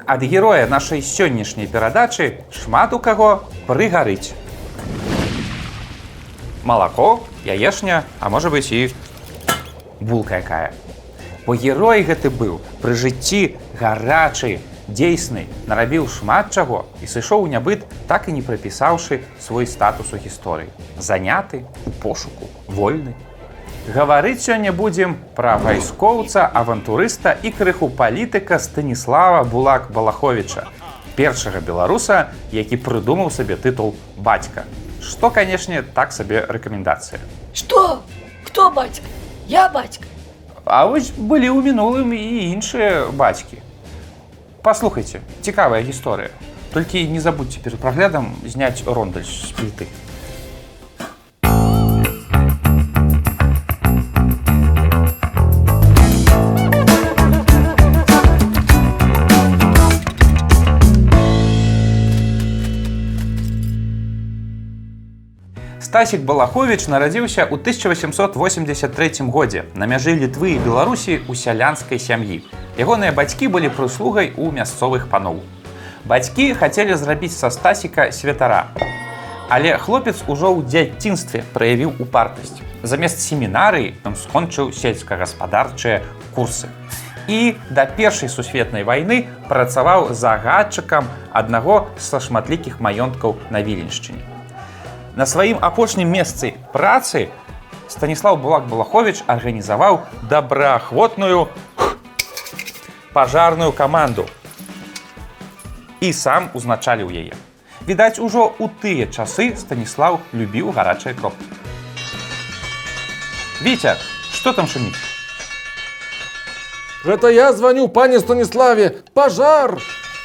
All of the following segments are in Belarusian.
ад героя нашай сённяшняй перадачы шмат у каго прыгарыць. Малако, яешня, а можа быць і булка якая. Бо герой гэты быў пры жыцці гарачы, дзейсны, нарабіў шмат чаго і сышоў у нябыт, так і не прапісаўшы свой статус у гісторыі. Заняты, у пошуку, вольны. Гаварыць сёння будзем пра вайскоўца, авантурыста і крыху палітыка Станіслава Булак-Балаховіча, першага беларуса, які прыдумаў сабе тытул бацька. Што, канешне, так сабе рэкамендацыя. Што? Хто бацька? Я бацька. А вось былі ў мінулым і іншыя бацькі. Паслухайце, цікавая гісторыя. Толькі не забудзьце перад праглядам зняць рондаль з пліты. Стасік Балаховіч нарадзіўся ў 1883 годзе на мяжы Літвы і Беларусі ў сялянскай сям'і. Ягоныя бацькі былі прыслугай у мясцовых паноў. Бацькі хацелі зрабіць са Стасіка святара. Але хлопец ужо ў дзяцінстве праявіў упартасць. Замест семінарыі ён скончыў сельскагаспадарчыя курсы. І да Першай сусветнай вайны працаваў загадчыкам аднаго са шматлікіх маёнткаў на Віленшчыне. На сваім апошнім месцы працы Станіслав Булак-Балаховіч арганізаваў добраахвотную пажарную каманду і сам узначаліў яе. Відаць, ужо ў тыя часы Станіслав любіў гарачыя кропкі. Вітя, што там шуміць? Гэта я званю пане Станіславе. Пажар!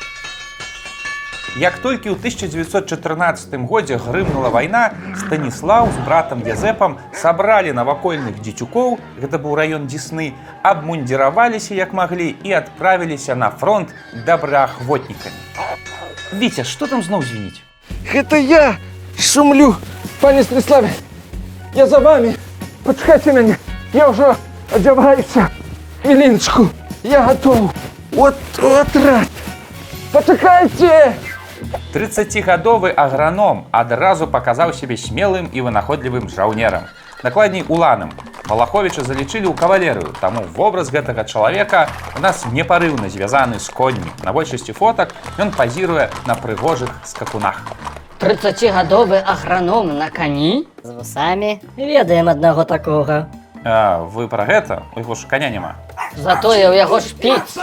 Як толькі ў 1914 годзе грымнула вайна, Станіслаў з братам Язэпам сабралі навакольных дзецюкоў, гэта быў раён Дзесны, абмундзіраваліся як маглі і адправіліся на фронт добраахвотнікамі. Віця, што там зноў звініць? Гэта я шумлю, пане Станіславе. Я за вами. Пачакайце мяне. Я ўжо адзяваюся. Хвілінчку. Я гатоў. От рад. Пачакайце! 30-гадовы аграном адразу паказаў сябе смелым і вынаходлівым жаўнерам. Дакладней, уланым. Балаховіча залічылі ў кавалерыю, таму вобраз гэтага чалавека у нас непарыўна звязаны з коньмі. На большасці фотак ён пазіруе на прыгожых скакунах. 30-гадовы аграном на кані? З вусамі? Ведаем аднаго такога. А, вы пра гэта? У яго ж каня няма. Затое ў яго шпіц.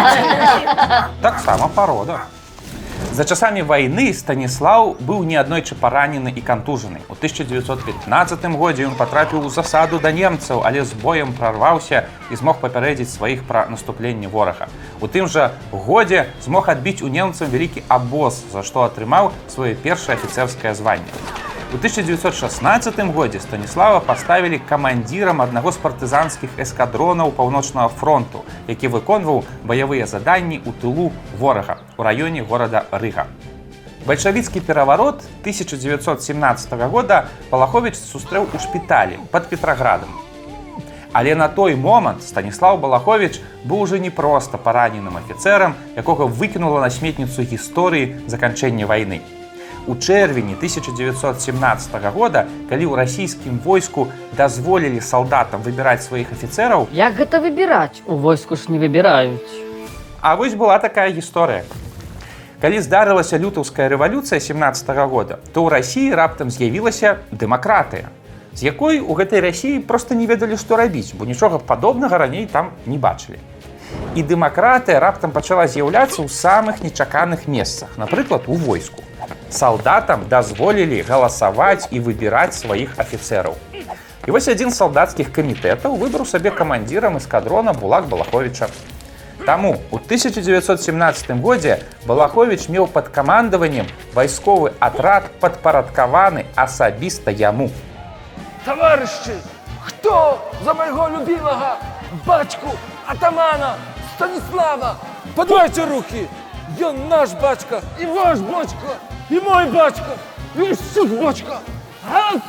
Таксама парода. За часамі вайны Станіслаў быў неаднойчы паранены і кантужаны. У 1915 годзе ён патрапіў у засаду да немцаў, але з боем прарваўся і змог папярэдзіць сваіх пра наступленне ворага. У тым жа годзе змог адбіць у немцаў вялікі абоз, за што атрымаў сваё першае афіцэрскае званне. У 1916 годзе Станіслава паставілі камандзірам аднаго з партызанскіх эскадронаў Паўночнага фронту, які выконваў баявыя заданні ў тылу ворага у раёне горада Рыга. Бальшавіцкі пераварот 1917 года Балаховіч сустрэў у шпіталі пад Петраградам. Але на той момант Станіслав Балаховіч быў ужо не проста параненым афіцэрам, якога выкінула на сметніцу гісторыі заканчэння вайны. У чэрвені 1917 года, калі ў расійскім войску дазволілі салдатам выбіраць сваіх афіцэраў... Як гэта выбіраць? У войску ж не выбіраюць. А вось была такая гісторыя. Калі здарылася лютаўская рэвалюцыя 17 года, то ў Расіі раптам з'явілася дэмакратыя, з якой у гэтай Расіі проста не ведалі, што рабіць, бо нічога падобнага раней там не бачылі. І дэмакратыя раптам пачала з'яўляцца ў самых нечаканых месцах, напрыклад, у войску. Салдатам дазволілі галасаваць і выбіраць сваіх афіцэраў. І вось адзін з салдацкіх камітэтаў выбраў сабе камандзірам эскадрона Булак-Балаховіча. Таму ў 1917 годзе Балаховіч меў пад камандаваннем вайсковы атрад, падпарадкаваны асабіста яму. Таварышы, хто за майго любімага бацьку атамана Станіслава? Падвайце рукі! Ён наш бацька, і ваш бацька, і мой бацька, і ўсіх бацька.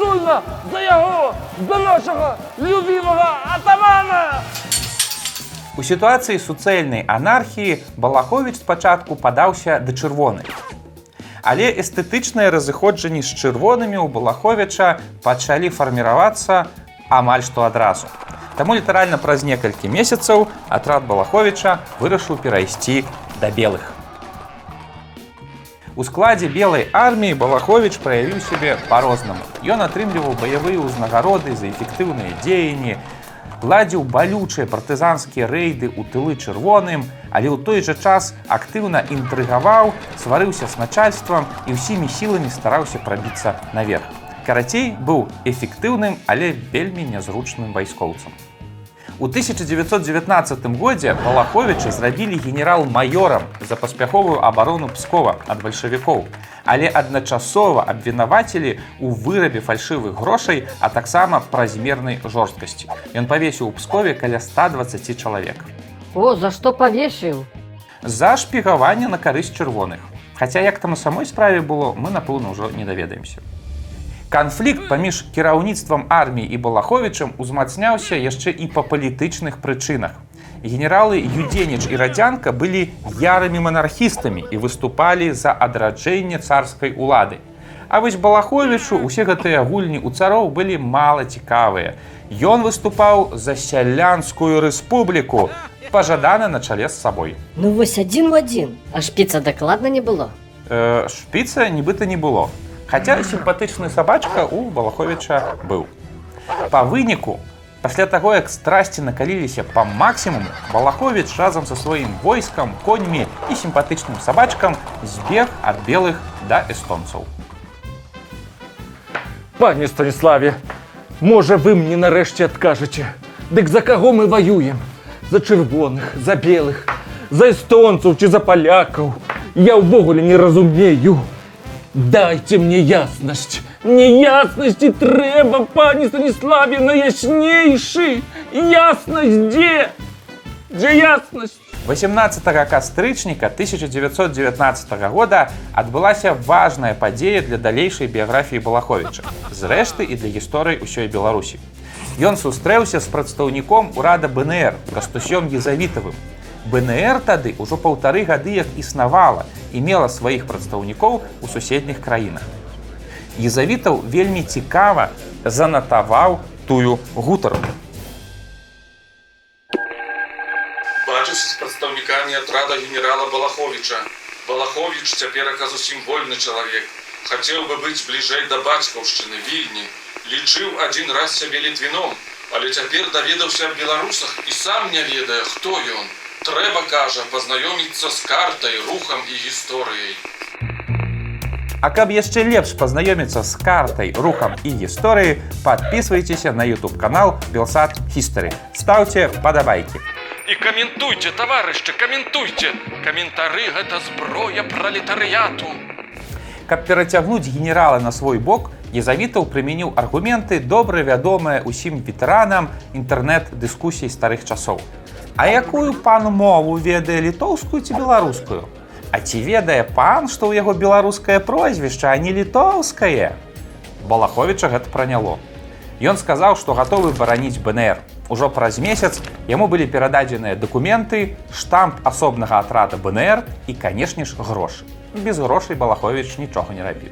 Галасуйма за яго, за нашага любімага атамана! У сітуацыі суцэльнай анархіі Балаховіч спачатку падаўся да чырвоных. Але эстэтычныя разыходжанні з чырвонымі ў Балаховіча пачалі фарміравацца амаль што адразу. Таму літаральна праз некалькі месяцаў атрад Балаховіча вырашыў перайсці да белых. У складзе белай арміі Балаховіч праявіў сябе па-рознаму. Ён атрымліваў баявыя ўзнагароды за эфектыўныя дзеянні, ладзіў балючыя партызанскія рэйды ў тылы чырвоным, але ў той жа час актыўна інтрыгаваў, сварыўся з начальствам і ўсімі сіламі стараўся прабіцца наверх. Карацей, быў эфектыўным, але вельмі нязручным вайскоўцам. У 1919 годзе Балаховіча зрабілі генерал-маёрам за паспяховую абарону Пскова ад бальшавікоў, але адначасова абвінавацілі ў вырабе фальшывых грошай, а таксама празмернай жорсткасці. Ён павесіў у Пскове каля 120 чалавек. О, за што павесіў? За шпігаванне на карысць чырвоных. Хаця як там у самой справе было, мы, напэўна, ўжо не даведаемся. Канфлікт паміж кіраўніцтвам арміі і Балаховічам узмацняўся яшчэ і па палітычных прычынах. Генералы Юдзеніч і Радзянка былі ярымі манархістамі і выступалі за адраджэнне царскай улады. А вось Балаховічу усе гэтыя гульні ў цароў былі мала цікавыя. Ён выступаў за сялянскую рэспубліку, пажадана на чале з сабой. Ну вось адзін в адзін. А шпіца дакладна не было? Шпіца нібыта не было. Хаця сімпатычны сабачка ў Балаховіча быў. Па выніку, пасля таго, як страсці накаліліся па максімуму, Балаховіч разам са сваім войскам, коньмі і сімпатычным сабачкам збег ад белых да эстонцаў. Пане Станіславе, можа вы мне нарэшце адкажаце, дык за каго мы ваюем? За чырвоных, за белых, за эстонцаў ці за палякаў? Я ўвогуле не разумею. Дайте мне яснасць. Мне яснасці трэба, пане Станіславе, найяснейшы. Яснасць дзе? Дзе яснасць? 18 кастрычніка 1919 года адбылася важная падзея для далейшай біяграфіі Балаховіча, зрэшты і для гісторыі ўсёй Беларусі. Ён сустрэўся з прадстаўніком урада БНР, Кастусём Езавітавым. БНР тады ўжо 1,5 гады як існавала і мела сваіх прадстаўнікоў у суседніх краінах. Езавітаў вельмі цікава занатаваў тую гутарку. Бачусь з прадстаўнікамі атрада генерала Балаховіча. Балаховіч цяперака зусім вольны чалавек. Хацеў бы быць бліжэй да бацькаўшчыны, Вільні. Лічыў адзін раз сябе літвіном, але цяпер даведаўся аб беларусах і сам не ведае, хто ён. Трэба, кажа, пазнаёміцца з картай, рухам і гісторыяй. А каб яшчэ лепш пазнаёміцца з картай, рухам і гісторыяй, падпісвайцеся на YouTube-канал Белсат History. Стаўце падабайкі. І каментуйце, таварышчы, каментуйце! Каментары – гэта зброя пралетарыяту. Каб перацягнуць генерала на свой бок, Езавітаў прымяніў аргументы, добра вядомыя ўсім ветэранам інтэрнэт-дыскусій старых часоў. А якую пан мову ведае, літоўскую ці беларускую? А ці ведае пан, што ў яго беларускае прозвішча, а не літоўскае? Балаховіча гэта праняло. Ён сказаў, што гатовы бараніць БНР. Ужо праз месяц яму былі перададзеныя дакументы, штамп асобнага атрада БНР і, канешне ж, грошы. Без грошай Балаховіч нічога не рабіў.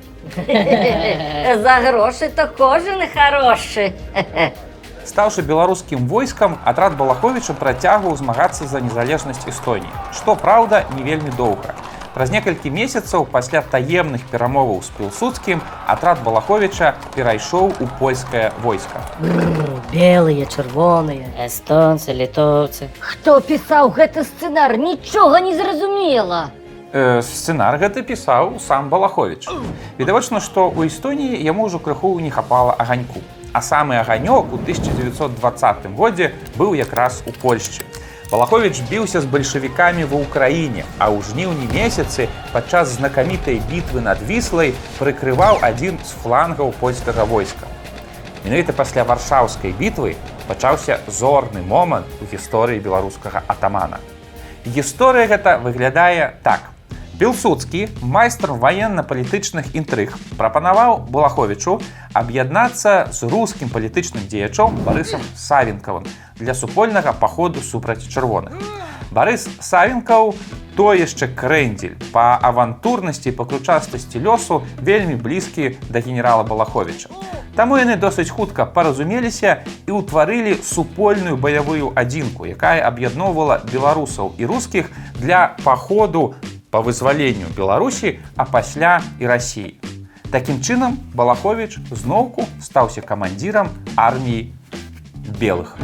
За грошы то кожен хорошы. Стаўшы беларускім войскам, атрад Балаховіча працягваў змагацца за незалежнасць Эстоніі, што, праўда, не вельмі доўга. Праз некалькі месяцаў пасля таемных перамоваў з Пілсудскім атрад Балаховіча перайшоў у польскае войска. Белыя, чырвоныя, эстонцы, літоўцы. Хто пісаў гэты сцэнар? Нічога не зразумела. Сцэнар гэты пісаў сам Балаховіч. Відавочна, што ў Эстоніі яму ўжо крыху не хапала аганьку. А самы аганёк у 1920 годзе быў якраз у Польшчы. Балаховіч біўся з бальшавікамі ва ўкраіне, а ў жніўні месяцы падчас знакамітай бітвы над Віслай прыкрываў адзін з флангаў польскага войска. Менавіта пасля варшаўскай бітвы пачаўся зорны момант у гісторыі беларускага атамана. Гісторыя гэта выглядае так. Пілсудскі, майстар ваенна-палітычных інтрыг, прапанаваў Балаховічу аб'яднацца з рускім палітычным дзеячом Барысам Савенкавым, для супольнага паходу супраць чырвоных. Барыс Савенкаў той яшчэ крэндзель, па авантурнасці і па ключастасці лёсу вельмі блізкі да генерала Балаховіча. Таму яны досыць хутка паразумеліся і ўтварылі супольную баявую адзінку, якая аб'ядноўвала беларусаў і рускіх для паходу па вызваленню Беларусі, а пасля і Расіі. Такім чынам Балаховіч зноўку стаўся камандзірам арміі белых.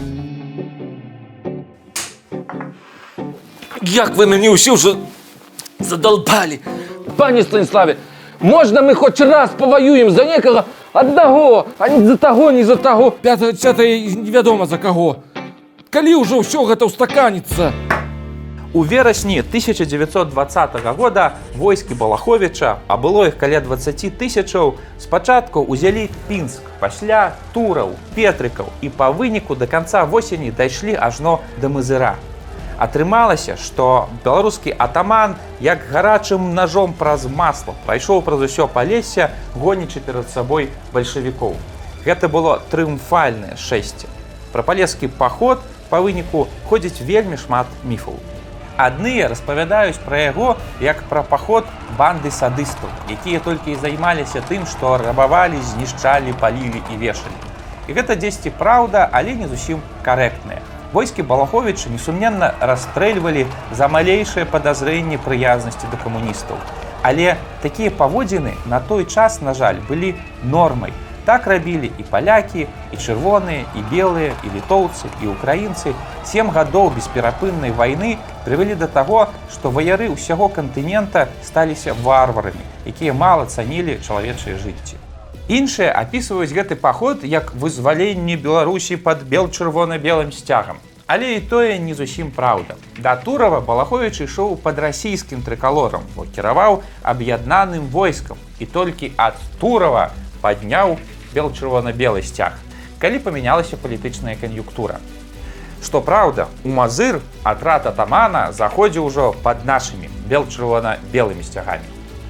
Як ви мені усі вже задолбали. Пане Станіславе, можна ми хоч раз повоюємо за некого одного, а не за того, не за того. П'ятое невядома за кого. Калі ўжо ўсё гэта устаканіцца? У верасні 1920 года войскі Балаховіча, а было іх каля 20 тысячаў, спачатку ўзялі Пінск, пасля Тураў, Петрыкаў і па выніку да канца восені дайшлі ажно да Мызыра. Атрымалася, што беларускі атаман як гарачым ножом праз масло прайшоў праз усё Палессе, гонячы перад сабой бальшавікоў. Гэта было трыумфальнае шэсце. Пра палескі паход па выніку ходзіць вельмі шмат міфаў. Адныя распавядаюць пра яго як пра паход банды садыстаў, якія толькі і займаліся тым, што рабавалі, знішчалі, палілі і вешалі. І гэта дзесьці праўда, але не зусім карэктнае. Войскі Балаховіча несумненна расстрэльвалі за малейшае падазрэнне прыязнасці да камуністаў. Але такія паводзіны на той час, на жаль, былі нормай. Так рабілі і палякі, і чырвоныя, і белыя, і літоўцы, і украінцы. 7 гадоў бесперапыннай вайны прывялі да таго, што ваяры ўсяго кантынента сталіся варварамі, якія мала цанілі чалавечае жыцці. Іншыя апісваюць гэты паход як вызваленне Беларусі пад бел-чырвона-белым сцягам. Але і тое не зусім праўда. Да Турава Балаховіч ішоў пад расійскім трыкалорам, бо кіраваў аб'яднаным войскам і толькі ад Турава падняў бел-чырвона-белы сцяг, калі памянялася палітычная кан'юнктура. Што праўда, у Мазыр атрад атамана заходзіў ужо пад нашымі бел-чырвона-белымі сцягамі.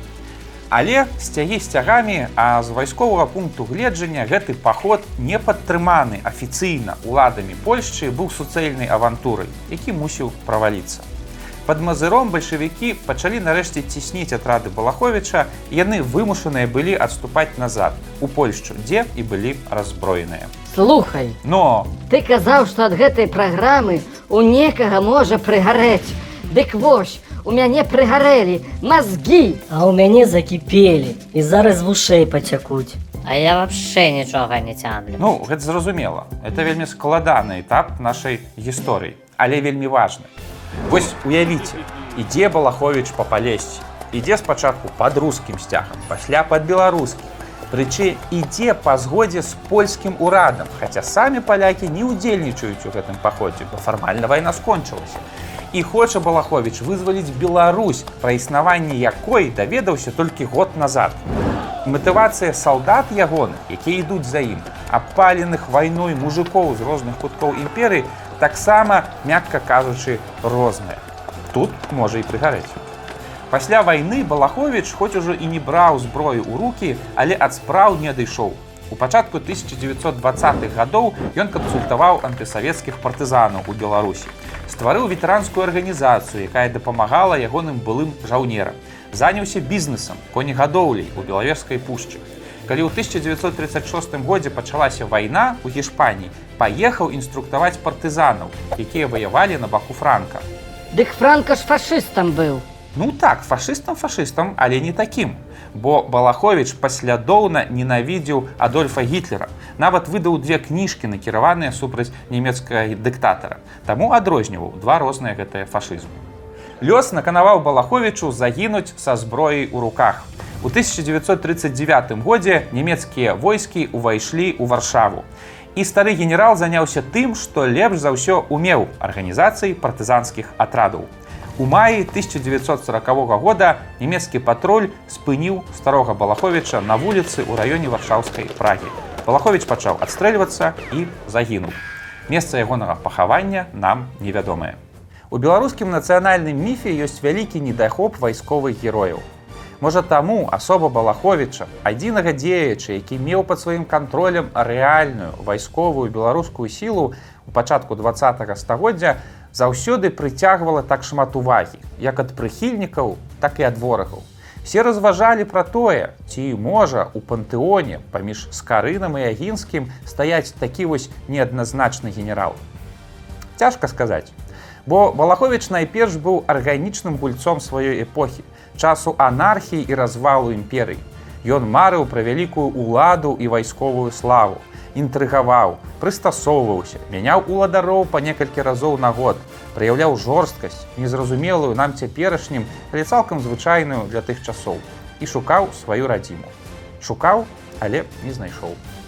Але сцягі сцягамі, а з вайсковага пункту гледжання гэты паход не падтрыманы афіцыйна уладамі Польшчы быў суцэльнай авантурай, які мусіў праваліцца. Пад Мазыром бальшавікі пачалі нарэшце цісніць атрады Балаховіча, і яны вымушаныя былі адступаць назад, у Польшчу, дзе і былі раззброеныя. Слухай, Но ты казаў, што ад гэтай праграмы у некага можа прыгарэць. Дык вось, у мяне прыгарэлі мазгі, а ў мяне закіпелі і зараз вушэй пацякуць. А я вообще нічога не цямлю. ну, гэта зразумела. Это вельмі складаны этап нашай гісторыі, але вельмі важны. Вось уявіце, ідзе Балаховіч па Палессі, ідзе спачатку пад рускім сцягам, пасля пад беларускім. Прычым ідзе па згодзе з польскім урадам, хаця самі палякі не ўдзельнічаюць у гэтым паходзе, бо фармальна вайна скончылася. І хоча Балаховіч вызваліць Беларусь, пра існаванне якой даведаўся толькі год назад. Матывацыя салдат ягоных, якія ідуць за ім, абпаленых вайной мужикоў з розных куткоў імперыі, таксама, мякка кажучы, розная. Тут можа і прыгарэць. Пасля вайны Балаховіч хоць ужо і не браў зброю ў рукі, але ад спраў не адышоў. У пачатку 1920-х гадоў ён кансультаваў антысавецкіх партызанаў у Беларусі. Стварыў ветэранскую арганізацыю, якая дапамагала ягоным былым жаўнерам. Заняўся бізнесам, конегадоўляй у Белавежскай пушчы. Калі ў 1936 годзе пачалася вайна ў Гішпаніі, паехаў інструктаваць партызанаў, якія ваявалі на баку Франка. дык Франка ж фашыстам быў. Ну так, фашыстам, але не такім. Бо Балаховіч паслядоўна ненавідзеў Адольфа Гітлера. Нават выдаў 2 кніжкі, накіраваныя супраць нямецкага дыктатара. Таму адрозніваў 2 розныя гэтыя фашызмы. Лёс наканаваў Балаховічу загінуць са зброяй у руках. У 1939 годзе нямецкія войскі ўвайшлі ў Варшаву. І стары генерал заняўся тым, што лепш за ўсё умеў – арганізацыяй партызанскіх атрадаў. У маі 1940 года нямецкі патруль спыніў старога Балаховіча на вуліцы ў раёне варшаўскай Прагі. Балаховіч пачаў адстрэльвацца і загінуў. Месца ягонага пахавання нам невядомае. У беларускім нацыянальным міфе ёсць вялікі недахоп вайсковых герояў. Можа таму асоба Балаховіча, адзінага дзеяча, які меў пад сваім кантролем рэальную вайсковую беларускую сілу у пачатку 20-го стагоддзя, заўсёды прыцягвала так шмат увагі, як ад прыхільнікаў, так і ад ворагаў. Все разважалі пра тое, ці можа у пантэоне паміж Скарынам і Агінскім стаяць такі вось неадназначны генерал. Цяжка сказаць, бо Балаховіч найперш быў арганічным гульцом сваёй эпохі, часу анархіі і развалу імперыі. Ён марыў пра вялікую ўладу і вайсковую славу, інтрыгаваў, прыстасоўваўся, мяняў уладароў па некалькі разоў на год, праяўляў жорсткасць, незразумелую нам цяперашнім, але цалкам звычайную для тых часоў, і шукаў сваю радзіму. Шукаў, але не знайшоў.